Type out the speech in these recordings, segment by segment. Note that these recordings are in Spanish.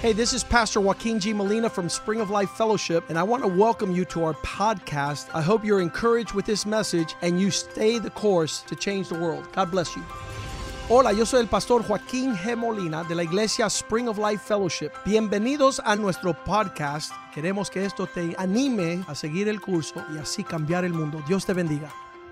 Hey, this is Pastor Joaquin G. Molina from Spring of Life Fellowship, and I want to welcome you to our podcast. I hope you're encouraged with this message and you stay the course to change the world. God bless you. Hola, yo soy el pastor Joaquín G. Molina de la iglesia Spring of Life Fellowship. Bienvenidos a nuestro podcast. Queremos que esto te anime a seguir el curso y así cambiar el mundo. Dios te bendiga.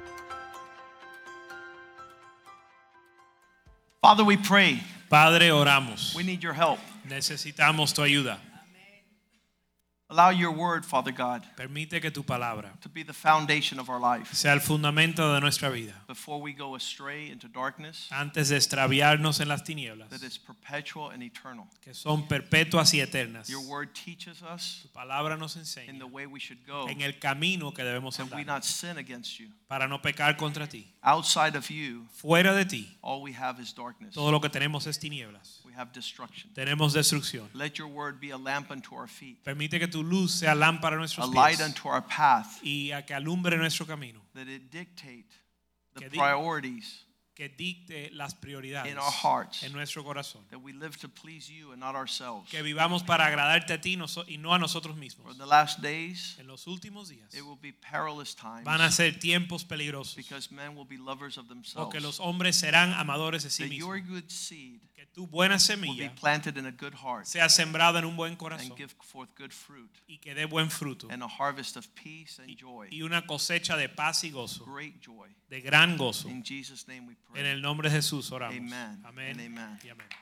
Father, we pray. Padre, oramos. We need your help. Necesitamos tu ayuda. Allow your word, Father God, Permite que tu palabra to be the foundation of our life. sea el fundamento de nuestra vida. Before we go astray into darkness, Antes de extraviarnos en las tinieblas, that is perpetual and eternal. que son perpetuas y eternas. Your word teaches us Tu palabra nos in enseña the way we should go, en el camino que debemos that we andar not sin against you. para no pecar contra ti. Outside of you, Fuera de ti, all we have is darkness. todo lo que tenemos es tinieblas. We have destruction. Tenemos destrucción. Let your word be a lamp unto our feet, Permite que tu luz sea lámpara a a nuestros light pies unto our path, y a que alumbre nuestro camino, that it dictate the Que di- priorities que dicte las prioridades in our hearts, en nuestro corazón. that we live to please you and not ourselves. Que vivamos para agradarte a ti y no a nosotros For mismos. the last days, En los últimos días it will be perilous times, van a ser tiempos peligrosos because men will be lovers of themselves. porque los hombres serán amadores de sí That your mismos. good seed Que tu buena will be semilla planted in a good heart sea sembrada en un buen and corazón give forth good fruit y que dé buen fruto and a harvest of peace and joy, y una cosecha de paz y gozo, great joy. de gran gozo. In Jesus' name we En pray. el nombre de Jesús oramos. Amen Amén and amen. y amén.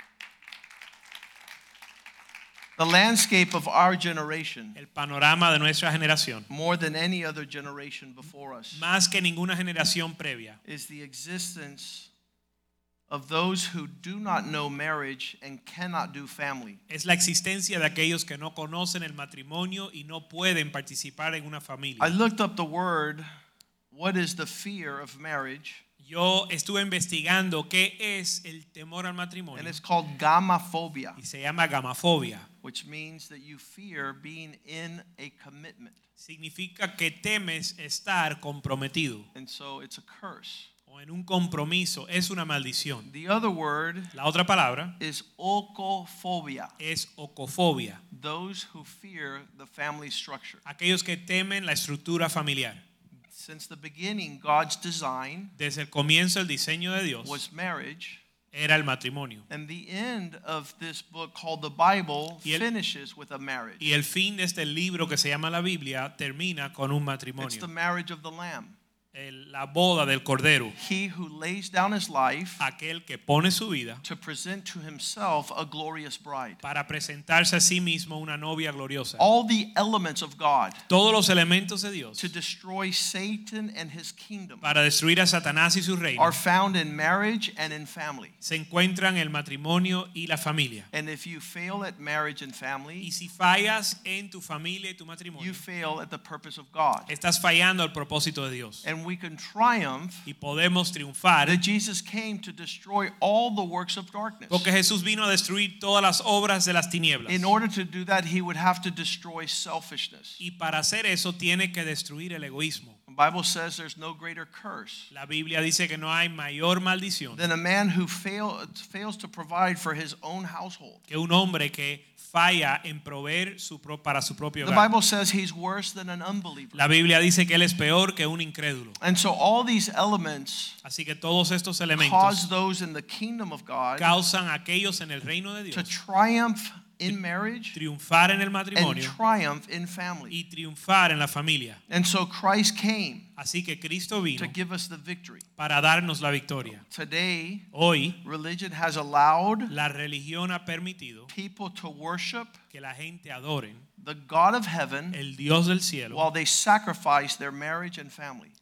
The landscape of our generation, El panorama de nuestra generación, more than any other generation before us, más que ninguna generación previa, is the existence of those who do not know marriage and cannot do family. es la existencia de aquellos que no conocen el matrimonio y no pueden participar en una familia. I looked up the word, what is the fear of marriage? Yo estuve investigando qué es el temor al matrimonio And it's called gamophobia, y se llama gamafobia. which means that you fear being in a commitment. Significa que temes estar comprometido And so it's a curse. o en un compromiso, es una maldición. The other word La otra palabra is okophobia, es ocofobia, those who fear the family structure. aquellos que temen la estructura familiar. Since the beginning, God's design Desde el comienzo el diseño de Dios was marriage. era el matrimonio And the end of this book called the Bible Y el- finishes with a marriage. y el fin de este libro que se llama la Biblia termina con un It's the matrimonio, marriage of the Lamb. la boda del Cordero, He who lays down his life aquel que pone su vida to present to himself a glorious bride. para presentarse a sí mismo una novia gloriosa. All the elements of God Todos los elementos de Dios to destroy Satan and his kingdom para destruir a Satanás y su reino are found in marriage and in family. se encuentran en el matrimonio y la familia. And if you fail at marriage and Y family, si fallas en tu familia y tu you matrimonio, fail at the purpose of God. estás fallando al propósito de Dios. And we can triumph Y podemos triunfar that Jesus came to destroy all the works of darkness. porque Jesús vino a destruir todas las obras de las tinieblas. In order to do that, he would have to destroy selfishness. Y para hacer eso tiene que destruir el egoísmo. The Bible says there's no greater curse La Biblia dice que no hay mayor maldición than a man who fails to provide for his own household. que un hombre que falla en proveer para su propio The hogar. Bible says he's worse than an unbeliever. La Biblia dice que él es peor que un incrédulo. And so all these elements Así que todos estos cause elementos those in the kingdom of God causan a aquellos en el reino de to Dios triumph in marriage triunfar en el and matrimonio triumph in family. y triunfar en la familia. And so Christ came Así que Cristo vino to give us the victory. para darnos la victoria. Today, Hoy religion has allowed la religión ha permitido people to worship que la gente adore the God of heaven el Dios del cielo while they sacrifice their marriage and family.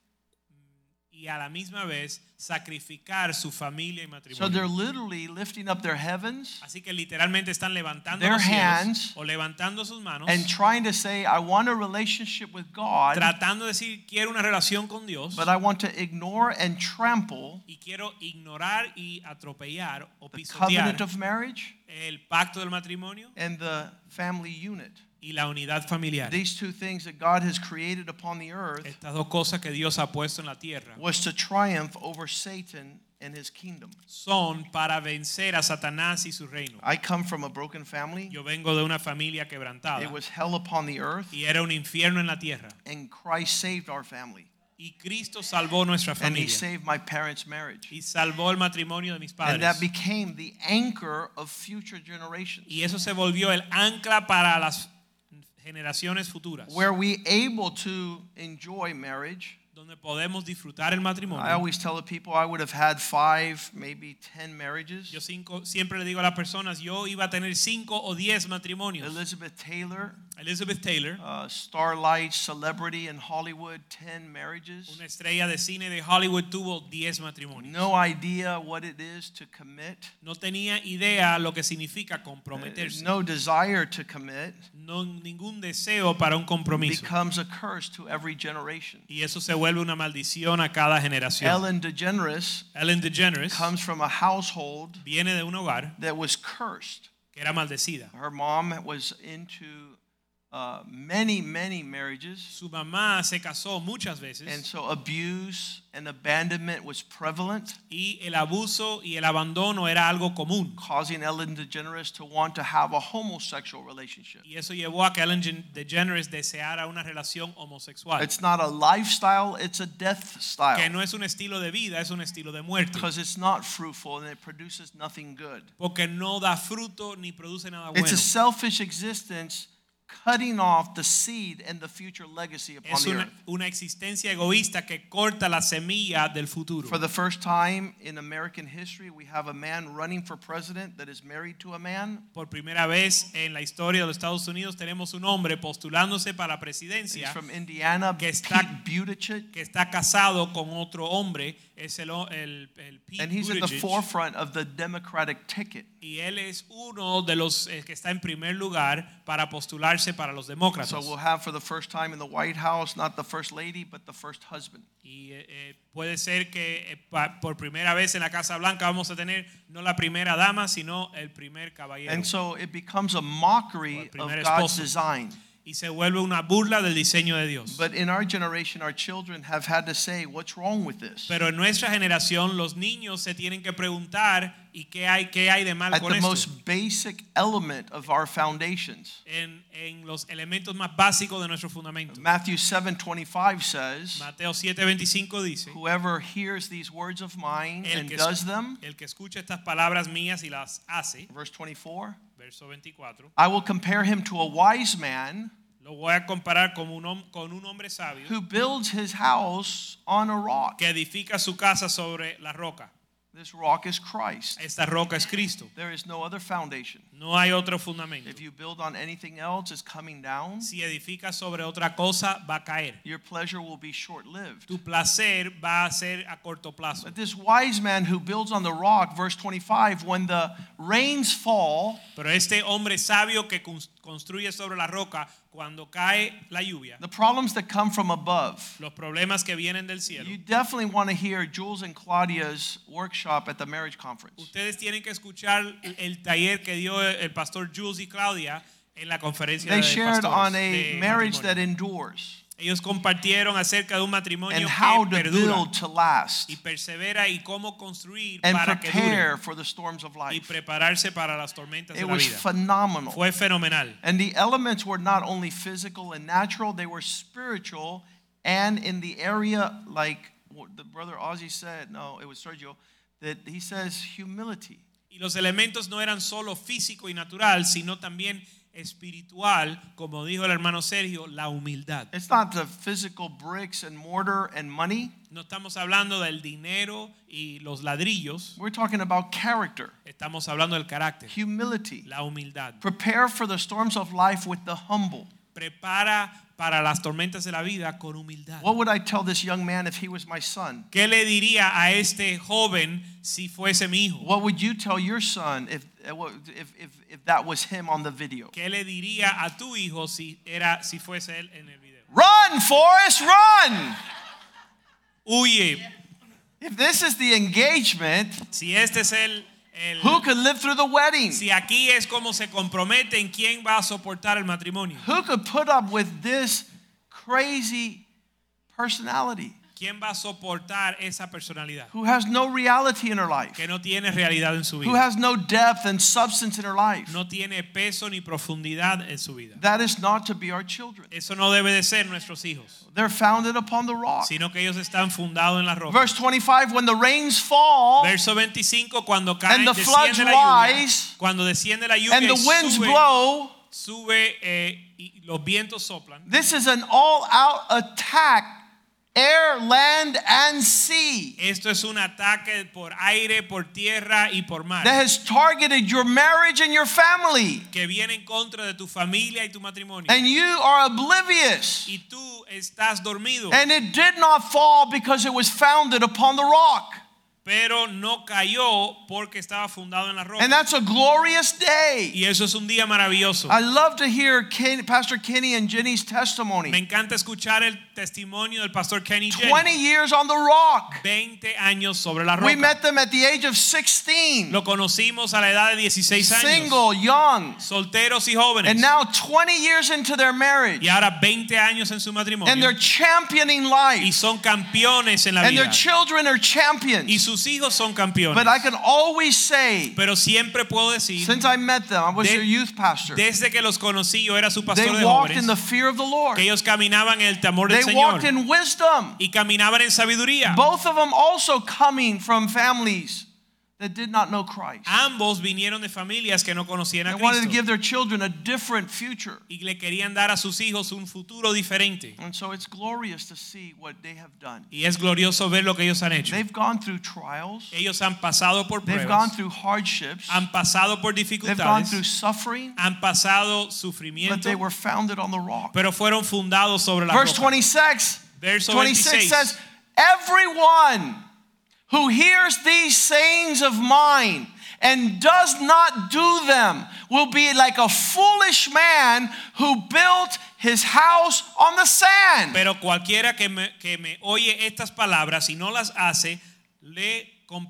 y a la misma vez sacrificar su familia y So matrimonio. they're literally lifting up their heavens Así que literalmente están levantando Their los cielos hands o levantando sus manos, and trying to say, I want a relationship with God, tratando de decir quiero una relación con Dios but I want to ignore and trample y quiero ignorar y atropellar o the pisotear covenant of marriage el pacto del matrimonio and the family unit. y la unidad familiar. These two things that God has created upon the earth Estas dos cosas que Dios ha puesto en la tierra was to triumph over Satan and his kingdom. son para vencer a Satanás y su reino. I come from a broken family. Yo vengo de una familia quebrantada It was hell upon the earth, y era un infierno en la tierra. and Christ saved our family. Y Cristo salvó nuestra And he familia saved my parents' marriage. y salvó el matrimonio de mis And that padres. became the anchor of future generations. Y eso se volvió el ancla para las generaciones futuras, Where we able to enjoy marriage. donde podemos disfrutar el I matrimonio. always tell the people I would have had 5, maybe 10 marriages. Yo siempre le digo a las personas, yo iba a tener 5 o 10 matrimonios. Elizabeth Taylor, Elizabeth Taylor, starlight celebrity in Hollywood, 10 marriages. una estrella de cine de Hollywood, tuvo 10 matrimonios. No idea what it is to commit. No tenía idea lo que significa comprometerse. No desire to commit. No ningún deseo para un compromiso. Becomes a curse to every generation. Y eso se vuelve una maldición a cada generación. Ellen DeGeneres Ellen DeGeneres comes from a household viene de un hogar that was cursed. que era maldecida. Her mom was into many marriages. Su mamá se casó muchas veces And so abuse and abandonment was prevalent, y el abuso y el abandono era algo común. causing Ellen DeGeneres to want to have a homosexual relationship. Y eso llevó a que Ellen DeGeneres deseara una relación homosexual. It's not a lifestyle, it's a death Que style. no es un estilo de vida, es un estilo de muerte. Because it's not fruitful and it produces nothing good. Porque no da fruto ni produce nada It's bueno. a selfish existence cutting off the seed and the future legacy upon Es the earth. una existencia egoísta que corta la semilla del futuro. For the first time in American history, we have a man running for president that is married to a man. Por primera vez en la historia de los Estados Unidos tenemos un hombre postulándose para la He's presidencia from Indiana, que Pete está- Buttigieg. que está casado con otro hombre, es el Pete And he's at the Buttigieg, forefront of the Democratic ticket. y él es uno de los que está en primer lugar para postularse para los demócratas. So we'll have for the first time in the White House, not the first lady, but the first husband. Y puede ser que por primera vez en la Casa Blanca vamos a tener no la primera dama, sino el primer caballero. And so it becomes a mockery O el of primer God's esposo. design. Y se vuelve una burla del diseño de Dios. But in our generation, our children have had to say, what's wrong with this? Pero en nuestra generación los niños se tienen que preguntar ¿y qué hay de mal At con the esto? most basic element of our foundations. En los elementos más básicos de nuestro fundamento. Matthew 7:25 says, Mateo 7:25 dice, whoever hears these words of mine and does them, el que escucha estas palabras mías y las hace, verse 24, verso 24, I will compare him to a wise man lo voy a comparar con un hombre sabio who builds his house on a rock. que edifica su casa sobre la roca. This rock is Christ. Esta roca es Cristo. There is no other foundation. No hay otro fundamento. If you build on anything else, it's coming down. Si edificas sobre otra cosa, va a caer. Your pleasure will be short-lived. Tu placer va a ser a corto plazo. But this wise man who builds on the rock, verse 25, when the rains fall, Pero este hombre sabio que construye sobre la roca, cuando cae la lluvia, the problems that come from above, los problemas que vienen del cielo, you definitely want to hear Jules and Claudia's workshop at the marriage conference. ustedes tienen que escuchar el taller que dio el pastor Jules y Claudia en la conferencia They de shared pastores on a de marriage matrimonio. that endures Ellos compartieron acerca de un matrimonio and how que to perdura build to last y persevera y cómo construir and para que prepare dure for the storms of y life. prepararse para las tormentas de It la was vida. phenomenal. Fue fenomenal. And the elements were not only physical and natural, they were spiritual. And in the area, like what the brother Ozzy said, no, it was Sergio, that he says humility. Y los elementos no eran solo físico y natural, sino también espiritual, como dijo el hermano Sergio, la humildad. It's not the physical bricks and mortar and money. No estamos hablando del dinero y los ladrillos, We're talking about character, estamos hablando del carácter, humility. la humildad. Prepare for the storms of life with the humble. Prepara para las tormentas de la vida con humildad. What would I tell this young man if he was my son? ¿Qué le diría a este joven si fuese mi hijo? What would you tell your son if that was him on the video? ¿Qué le diría a tu hijo si fuese él en el video? Run, Forrest, run! Huye. If this is the engagement, Si este es who could live through the wedding? si aquí es como se comprometen, ¿quién va a soportar el matrimonio? Who could put up with this crazy personality? ¿Quién va a soportar esa personalidad? Who has no reality in her life? Que no tiene realidad en su Who vida. has no depth and substance in her life? No tiene peso ni profundidad en su vida. That is not to be our children. Eso no debe de ser nuestros hijos, They're founded upon the rock. sino que ellos están fundados en la roca. Verse 25, when the rains fall Verso 25, cuando cae, and the floods rise cuando desciende la lluvia and the y winds sube, blow, y los vientos soplan. this is an all-out attack, air, land, and sea, Esto es un ataque por aire, por tierra y por mar, that has targeted your marriage and your family. que viene en contra de tu familia y tu matrimonio. And you are oblivious. Y tú estás dormido, And it did not fall because it was founded upon the rock. pero no cayó porque estaba fundado en la roca. And that's a glorious day. Y eso es un día maravilloso. I love to hear Pastor Kenny and Jenny's testimony. Me encanta escuchar el testimonio del pastor Kenny Jenny. 20 years on the rock. 20 años sobre la roca. We met them at the age of 16. Lo conocimos a la edad de 16 años. Single, young. Solteros y jóvenes. And now 20 years into their marriage. Y ahora 20 años en su matrimonio. And they're championing Y life. son campeones en la And vida. their children are Y champions. sus hijos son campeones. But I can always say, Pero siempre puedo decir, since I met them, I was their youth pastor. desde que los conocí, yo era su They pastor de walked in jóvenes, the fear of the Lord. que ellos caminaban en el temor del They Señor. walked in wisdom. Y caminaban en sabiduría. Both of them also coming from families that did not know Christ. Ambos vinieron de familias que no conocían They a wanted to Cristo. give their children a different future. Y le querían dar a sus hijos un futuro diferente. And so it's glorious to see what they have done. Y es glorioso ver lo que ellos han hecho. They've gone through trials. Ellos han pasado por They've gone pruebas, through hardships. han pasado por They've gone dificultades, through suffering. han pasado But sufrimiento, they were founded on the rock. pero fueron fundados sobre la Verse roca. 26. Verso 26 26. says, everyone who hears these sayings of mine and does not do them will be like a foolish man who built his house on the sand. Pero cualquiera que me oye estas palabras y no las hace, le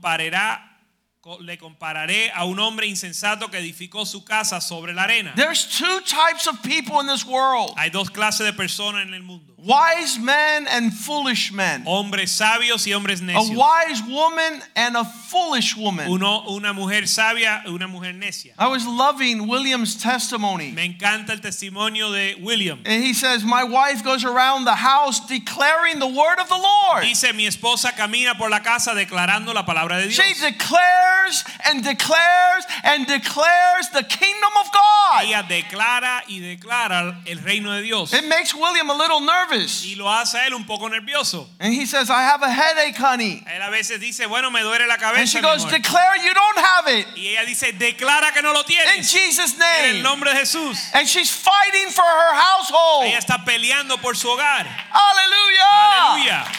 compararé a un hombre insensato que edificó su casa sobre la arena. There's two types of people in this world. Hay dos clases de personas en el mundo. Wise men and foolish men. Hombres sabios y hombres A necios. wise woman and a foolish woman. Una mujer sabia y una mujer necia. I was loving William's testimony. Me encanta el testimonio de William. And he says, my wife goes around the house declaring the word of the Lord. Dice, mi esposa camina por la casa declarando la palabra de Dios. She declares and declares and declares the kingdom of God. Ella declara y declara el reino de Dios. It makes William a little nervous. Y lo hace a él un poco nervioso. And he says, I have a headache, honey. Él a veces dice, bueno, me duele la And cabeza. she mi goes, amor. declare you don't have it. Y ella dice, declara que no lo In tienes. Jesus' En el name. nombre de Jesús. And she's fighting for her household. Ella está peleando por su hogar. Hallelujah. Aleluya.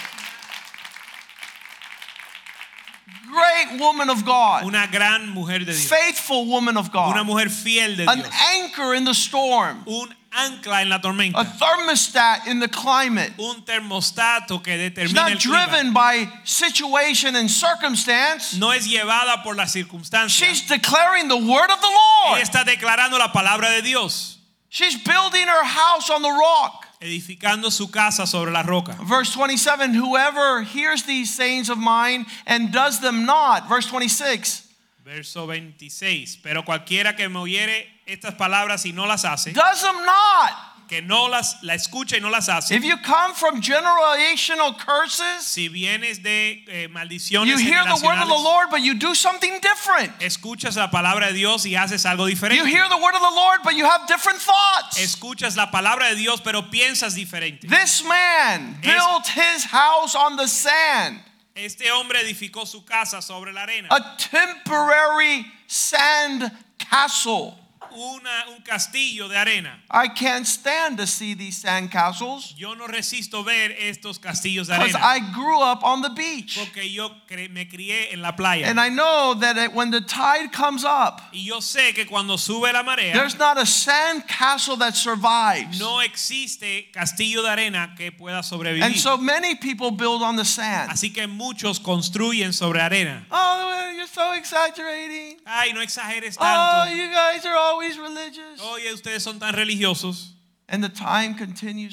Great woman of God. Una gran mujer de Dios. Faithful woman of Una God. mujer fiel de An Dios. anchor in the storm. Un ancla en la A tormenta. thermostat in the climate. Un termostato que She's determina not el clima. driven by situation and circumstance. No es llevada por las circunstancias. She's declaring the word of the Ella Lord. está declarando la palabra de Dios. She's building her house on the rock. Edificando su casa sobre la roca. Verse 27, whoever hears these sayings of mine and does them not. Verse 26, Verso 26. Pero cualquiera que me oyere estas palabras y no las hace, does them not. que no la escucha y no las hace. If you come from generational curses, Si vienes de maldiciones you hear the word of the generacionales, Lord, but you do something different. escuchas la palabra de Dios y haces algo You diferente. hear the word of the Lord, but you have different thoughts. Escuchas la palabra de Dios, pero piensas diferente. This man built his house on the sand, Este hombre edificó su casa sobre la arena. a temporary sand castle. Un castillo de arena. I can't stand to see these sand castles Yo no resisto ver estos castillos de because arena. I grew up on the beach. Porque yo me crié en la playa. And I know that when the tide comes up, Y yo sé que cuando sube la marea, there's not a sand castle that survives. no existe castillo de arena que pueda sobrevivir. And so many people build on the sand. Así que muchos construyen sobre arena. Oh, you're so exaggerating. Ay, no exageres Oh, tanto. you guys are always religious. Oye, ustedes son tan religiosos. And the time continues to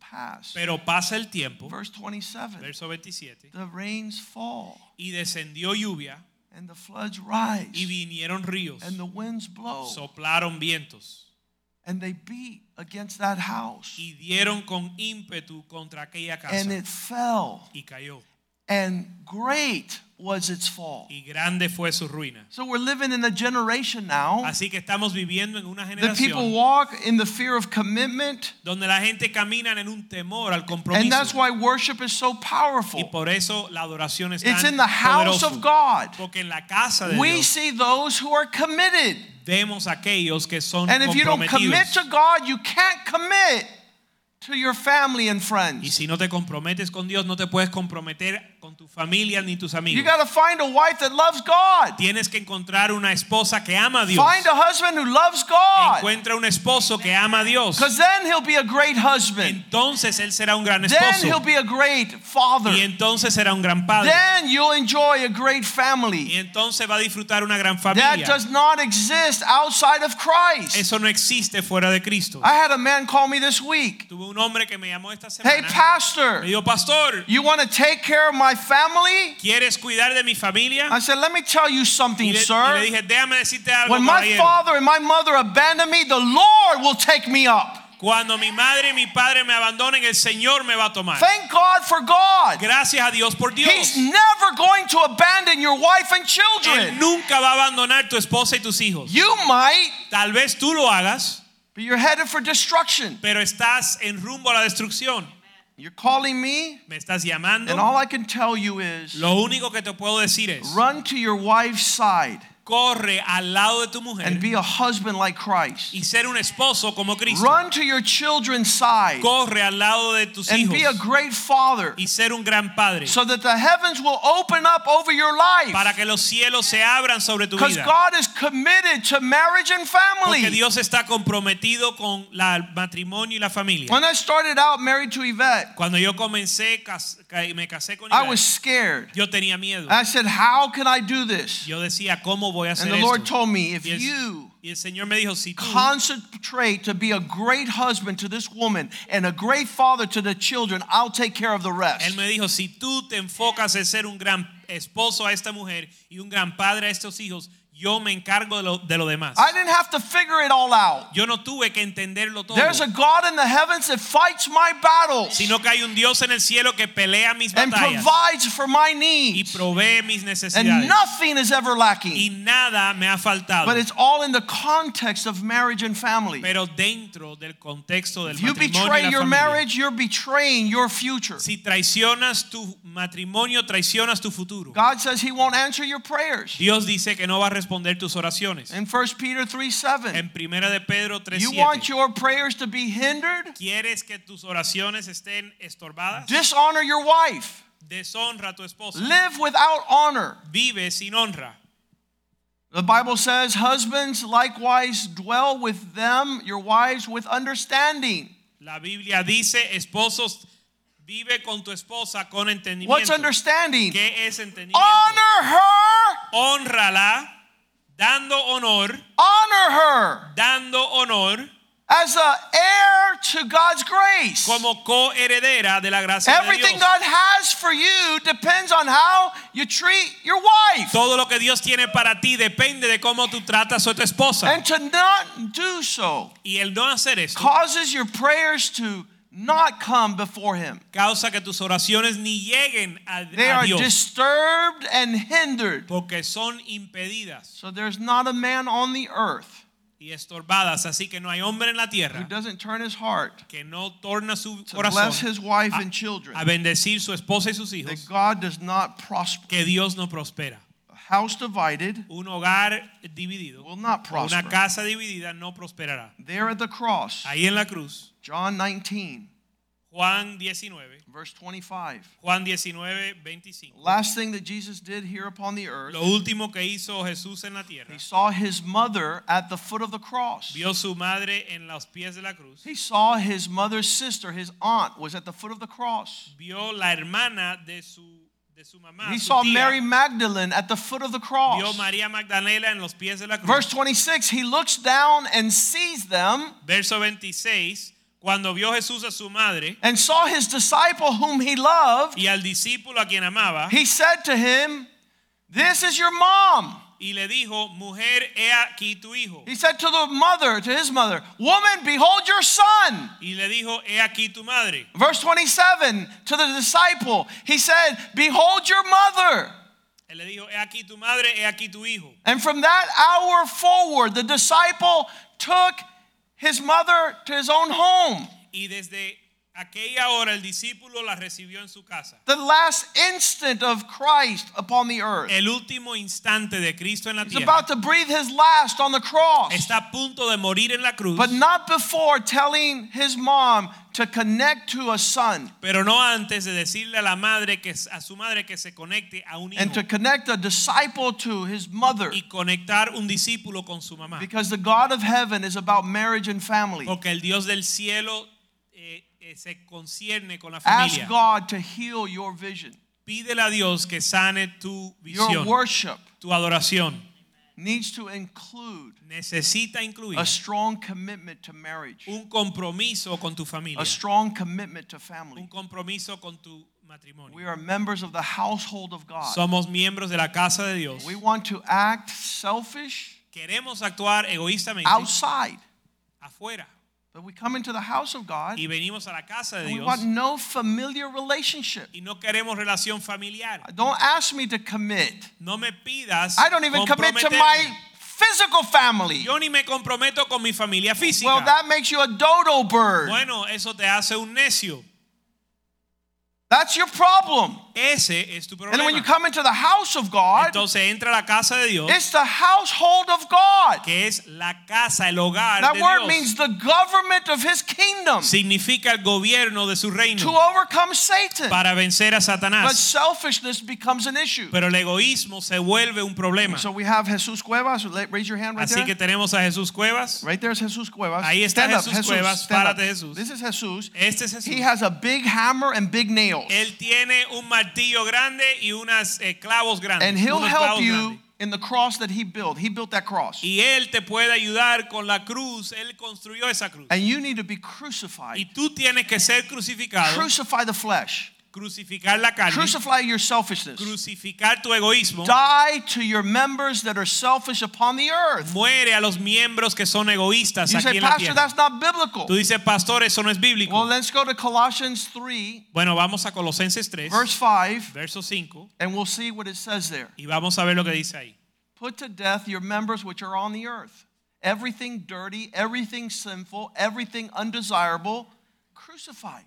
pass. Pero pasa el tiempo, Verse 27. verso 27, The rains fall y descendió lluvia and the floods rise y vinieron ríos, and the winds blow soplaron vientos and they beat against that house y dieron con ímpetu contra aquella casa and it fell y cayó. and great was its fall. Y grande fue su ruina. So we're living in a generation now. Así que estamos viviendo en una The people generación walk in the fear of commitment, donde la gente camina en un temor al and that's compromiso. why worship is so Y powerful. por eso la adoración es It's tan in the house poderosa. of God. Porque en la casa de We Dios see those who are committed. vemos aquellos que son And if you don't commit comprometidos. to God, you can't commit to your family and Y friends. si no te comprometes con Dios, no te puedes comprometer con tu familia ni tus You amigos. got to find a wife that loves God. Tienes que encontrar una esposa que ama a Dios. Find a husband who loves God. Encuentra un esposo que ama a Dios. Because then he'll be a great husband. Entonces él será un gran Then he'll esposo. be a great father. Y entonces será un gran padre. Then you'll enjoy a great Y family. entonces va a disfrutar una gran That familia. does not exist outside of Christ. Eso no existe fuera de Cristo. I had a man call me this week. Tuve un hombre que me llamó esta Hey, semana. pastor, Me dijo, pastor, you want to take care of my family? ¿quieres cuidar de mi familia? I said, let me tell you Y something, le sir. dije, déjame decirte algo, When my caballero. father and my mother abandoned me, the Lord will take me up. Cuando mi madre y mi padre me abandonen, el Señor me va a tomar. Thank God for God. Gracias a Dios por Dios. He's never going to abandon your wife and Él children. nunca va a abandonar tu esposa y tus hijos. You might, Tal vez tú lo hagas, but you're headed for destruction. pero estás en rumbo a la destrucción. You're calling me, Me estás llamando. and all I can tell you is Lo único que te puedo decir es, run to your wife's side corre al lado de tu mujer and be a husband like Christ. y ser un esposo como Cristo. Run to your children's side Corre al lado de tus and be a hijos great father y ser un gran padre so that the heavens will open up over your life. para que los cielos se abran sobre tu Because vida. God is committed to marriage and Porque family. Dios está comprometido con el matrimonio y la familia. When I started out married to Yvette, Cuando yo comencé, me casé con I Ivette, was scared. yo tenía miedo. I said, how can I do this? Yo decía, ¿cómo voy a hacer And the Lord esto? told me, if Y you el Señor me dijo, si tú concentrate to be a great husband to this woman and a great father to the children, I'll take care of the Él rest. me dijo, si tú te enfocas en ser un gran esposo a esta mujer y un gran padre a estos hijos, yo me encargo de lo demás. I didn't have to figure it all out. Yo no tuve que entenderlo todo, There's a God in the heavens that fights my battles sino que hay un Dios en el cielo que pelea mis and batallas provides for my y needs. provee mis And necesidades. nothing is ever Y lacking. nada me ha faltado. But it's all in the context of marriage and family. Pero dentro del contexto del If you matrimonio y betray la your familia. marriage, you're betraying your future. Si traicionas tu matrimonio, traicionas tu futuro. God says He won't answer your prayers. Dios dice que no va a responder tus oraciones. In 1 Peter 3:7, En Primera de Pedro you want 3:7. your prayers to be hindered? ¿Quieres que tus oraciones estén estorbadas? Dishonor your wife. Deshonra a tu esposa. Live without honor. Vive sin honra. The Bible says, husbands likewise dwell with them, your wives with understanding. La Biblia dice, esposos, vive con tu esposa con entendimiento. What's understanding? ¿Qué es entendimiento? Honor her. Honrala, dando honor, dando honor As an heir to God's grace. como coheredera de la gracia de Everything Dios. God has for you depends on how you treat your wife. Todo lo que Dios tiene para ti depende de cómo tú tratas a tu esposa. And to not do so Y el no hacer esto causes your prayers to not come before Him. causa que tus oraciones ni lleguen They a are Dios, disturbed and hindered. porque son impedidas So there's not a man on the earth y estorbadas. Así que no hay hombre en la who tierra doesn't turn his heart que no torna su to bless corazón his wife and children. a bendecir su esposa y sus That hijos, God does not prosper. que Dios no prospera. A house divided Un hogar dividido, will not o una prosper. casa dividida no prosperará. There at the cross, Ahí en la cruz, John 19, Juan 19, verse 25. Juan 19, 25. Last thing that Jesus did here upon the earth, Lo último que hizo Jesús en la tierra, He saw His mother at the foot of the cross. vio su madre en los pies de la cruz, He saw His mother's sister, His aunt, was at the foot of the cross. vio la hermana de su mamá, He su saw tía, Mary Magdalene at the foot of the vio cross. María Magdalena en los pies de la cruz. Verse 26, He looks down and sees them, Verso 26, Cuando vio Jesús a su madre and saw his disciple whom he loved, y al discípulo a quien amaba, he said to him, "This is your mom." y le dijo, mujer, he aquí tu hijo. He said to the mother, to his mother, "Woman, behold your son." Y le dijo, he aquí tu madre. Verse 27, to the disciple, he said, "Behold your mother." Él le dijo, he aquí tu madre, he aquí tu hijo. And from that hour forward, the disciple took his mother to his own home. Y desde aquella hora el discípulo la recibió en su casa. The last instant of Christ upon the earth. El último instante de Cristo en la He's tierra. about to breathe his last on the cross. Está a punto de morir en la cruz. But not before telling his mom to connect to a son. Pero no antes de decirle a la madre que a su madre que se conecte a un hijo. And to connect a disciple to his mother. Y conectar un discípulo con su mamá. Because the God of heaven is about marriage and family. Porque el Dios del cielo se concierne con la Ask familia. God to heal your vision. Pídele a Dios que sane tu Your visión, worship tu adoración. needs to include Necesita incluir a strong commitment to marriage, un compromiso con tu familia, a strong commitment to un family. compromiso con tu matrimonio. We are members of the household of God. Somos miembros de la casa de Dios. We want to act selfish Queremos actuar egoístamente outside, afuera but we come into the house of God y venimos a la casa de and we Dios want no familiar relationship. y no queremos relación familiar. Don't ask me to commit. No me pidas I don't even commit to comprometerme. my physical family. Yo ni me comprometo con mi familia física. Well, that makes you a dodo bird. Bueno, eso te hace un necio. That's your problem. Ese es tu And when you problema. come into the house of God, Entonces entra a la casa de Dios, it's the household of God. que es la casa, el hogar That de word Dios. means the government of his kingdom Significa el gobierno de su to reino overcome Satan. para vencer a But Satanás. selfishness becomes an issue. Pero el egoísmo se vuelve un problema. So we have Jesus Cuevas. Raise your hand right Así que there. tenemos a Jesús Cuevas. Right there's Jesus Cuevas. Ahí está Stand up, Jesús Cuevas. Stand up. Párate, Jesús. This is Jesus. Este es Jesús. He has a big hammer and big nails. Él tiene un martillo grande y unas clavos grandes. And he'll unos help clavos you grandes. in the cross that he built. He built that cross. Y él te puede ayudar con la cruz. Él construyó esa cruz. And you need to be crucified. Y tú tienes que ser crucificado. Crucify the flesh. Crucificar la carne. Crucify your selfishness. Crucificar tu egoísmo. Die to your members that are selfish upon the earth. Muere a los miembros que son egoístas You aquí say, en la Pastor, tierra. that's not biblical. Tú dices, pastor, eso no es bíblico. Well, let's go to Colossians 3, Bueno, vamos a Colosenses 3, verse 5, verso 5, and we'll see what it says there. y vamos a ver lo que dice ahí. Put to death your members which are on the earth. Everything dirty, everything sinful, everything undesirable, crucify.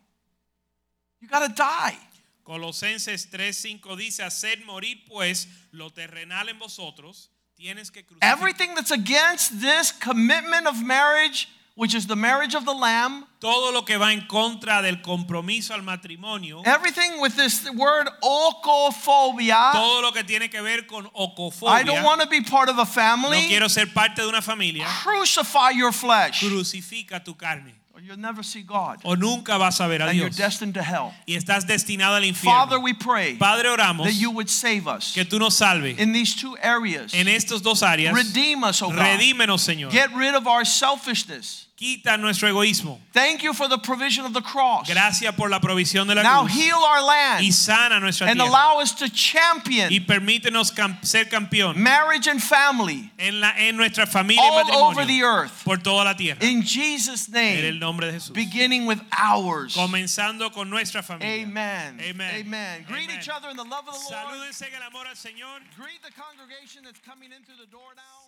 You got to die. Colosenses 3:5 dice, hacer morir pues lo terrenal en vosotros, tienes que crucificar Everything that's against this commitment of marriage, which is the marriage of the Lamb, todo lo que va en contra del compromiso al matrimonio, everything with this word okophobia. todo lo que tiene que ver con I ocofobia. don't want to be part of a No family. quiero ser parte de una familia. Crucify your flesh, Crucifica tu carne or you'll never see God, o nunca vas a ver a and you're Dios destined to hell. y estás destinado al Father, infierno. we pray Padre, oramos that you would save us que tú nos salves in these two areas. en estos dos áreas. Redeem us, oh God. Redímenos, Señor. Get rid of our selfishness. Quita nuestro egoísmo. Thank you for the provision of the cross. Gracias por la provisión de la Now cruz. heal our land Y sana nuestra and tierra. allow us to champion Y permítenos ser campeón marriage and family en nuestra familia y all over the matrimonio earth. por toda la tierra. In Jesus' En el name, nombre de Jesús. beginning with ours. Comenzando con nuestra familia. Amen. Amen. Amen. Greet Amen. each other in the love of the Lord. Salúdense en el amor al Señor. Greet the congregation that's coming in through the door now.